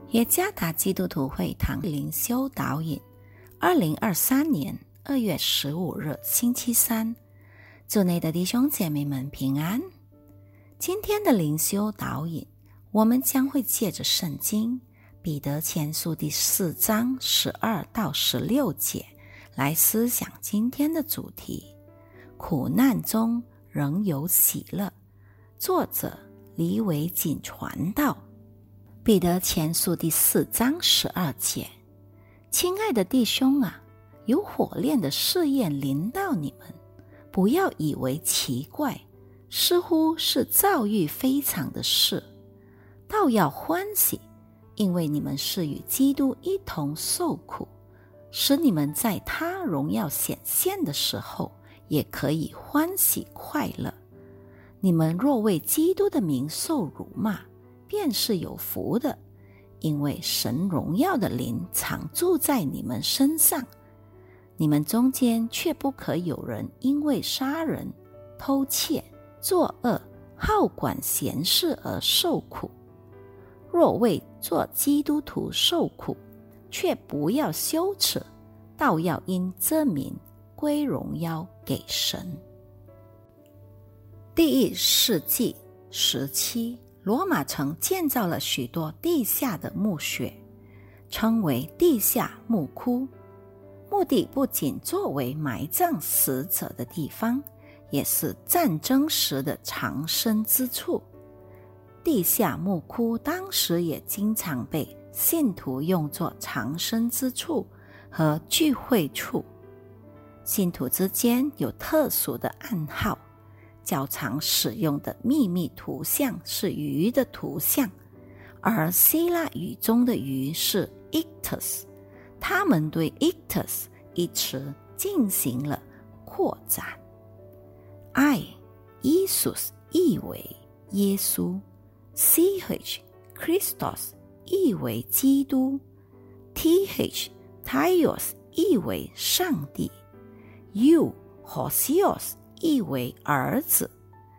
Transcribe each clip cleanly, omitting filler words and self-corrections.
耶加达基督徒会堂灵修导引2023年2月15日星期三，主内的弟兄姐妹们平安。今天的灵修导引，我们将会借着圣经彼得前书第4章12到16节来思想今天的主题：苦难中仍有喜乐。作者李伟锦传道。彼得前书第4章12节，亲爱的弟兄啊，有火炼的试验临到你们，不要以为奇怪，似乎是遭遇非常的事，倒要欢喜，因为你们是与基督一同受苦，使你们在他荣耀显现的时候，也可以欢喜快乐。你们若为基督的名受辱骂，便是有福的，因为神荣耀的灵常住在你们身上。你们中间却不可有人因为杀人、偷窃、作恶、好管闲事而受苦。若为做基督徒受苦，却不要羞耻，倒要因这名归荣耀给神。第1世纪时期，罗马城建造了许多地下的墓穴，称为地下墓窟，目的不仅作为埋葬死者的地方，也是战争时的藏身之处。地下墓窟当时也经常被信徒用作藏身之处和聚会处。信徒之间有特殊的暗号，较常使用的秘密图像是鱼的图像，而希腊语中的鱼是 Ictus， 他们对 Ictus 一词进行了扩展。Iesous 意为耶稣， CH Christos 意为基督， TH Theos 意为上帝， Hosios 意为儿子，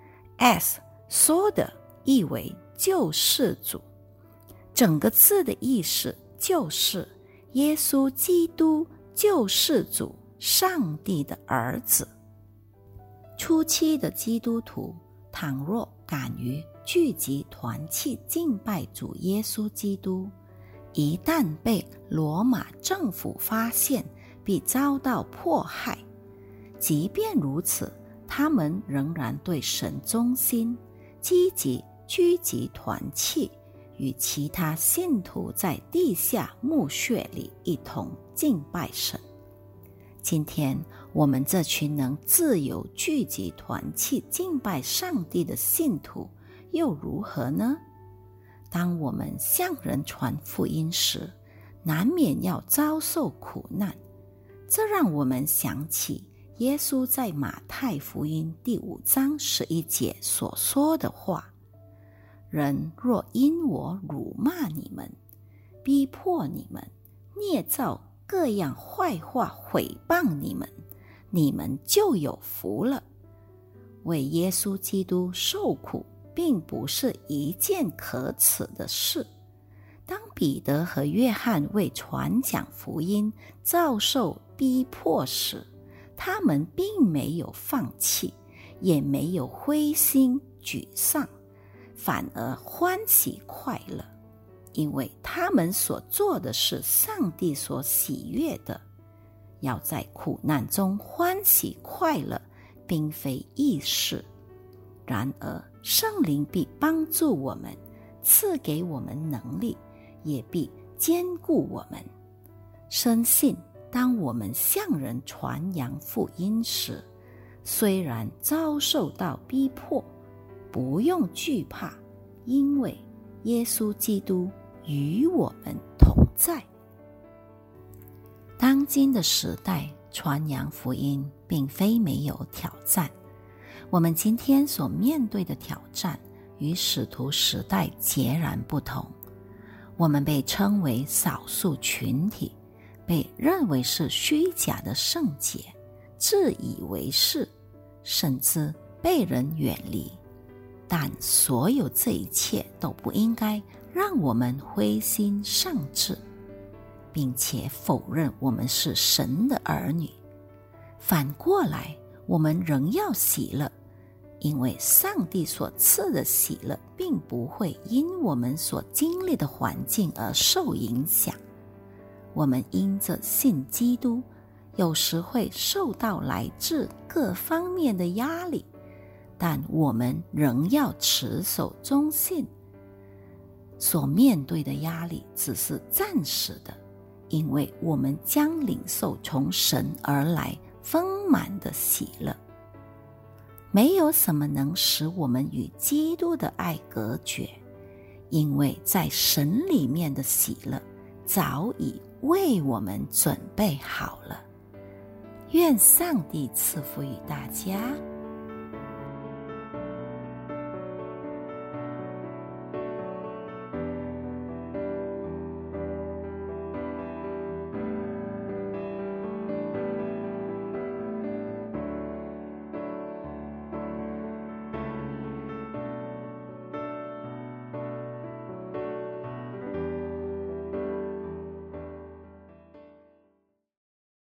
Soda 意为救世主。整个字的意思就是耶稣基督救世主，上帝的儿子。初期的基督徒倘若敢于聚集团契敬拜主耶稣基督，一旦被罗马政府发现，必遭到迫害。即便如此，他们仍然对神忠心，积极聚集团契，与其他信徒在地下墓穴里一同敬拜神。今天我们这群能自由聚集团契敬拜上帝的信徒又如何呢？当我们向人传福音时，难免要遭受苦难，这让我们想起耶稣在马太福音第5章11节所说的话：人若因我辱骂你们，逼迫你们，捏造各样坏话毁谤你们，你们就有福了。为耶稣基督受苦并不是一件可耻的事。当彼得和约翰为传讲福音遭受逼迫时，他们并没有放弃，也没有灰心沮丧，反而欢喜快乐，因为他们所做的是上帝所喜悦的。要在苦难中欢喜快乐，并非易事。然而圣灵必帮助我们，赐给我们能力，也必坚固我们。深信当我们向人传扬福音时，虽然遭受到逼迫，不用惧怕，因为耶稣基督与我们同在。当今的时代，传扬福音并非没有挑战。我们今天所面对的挑战与使徒时代截然不同。我们被称为少数群体，被认为是虚假的圣洁，自以为是，甚至被人远离。但所有这一切都不应该让我们灰心丧志，并且否认我们是神的儿女。反过来，我们仍要喜乐，因为上帝所赐的喜乐并不会因我们所经历的环境而受影响。我们因着信基督，有时会受到来自各方面的压力，但我们仍要持守忠信。所面对的压力只是暂时的，因为我们将领受从神而来丰满的喜乐。没有什么能使我们与基督的爱隔绝，因为在神里面的喜乐早已为我们准备好了。愿上帝赐福于大家。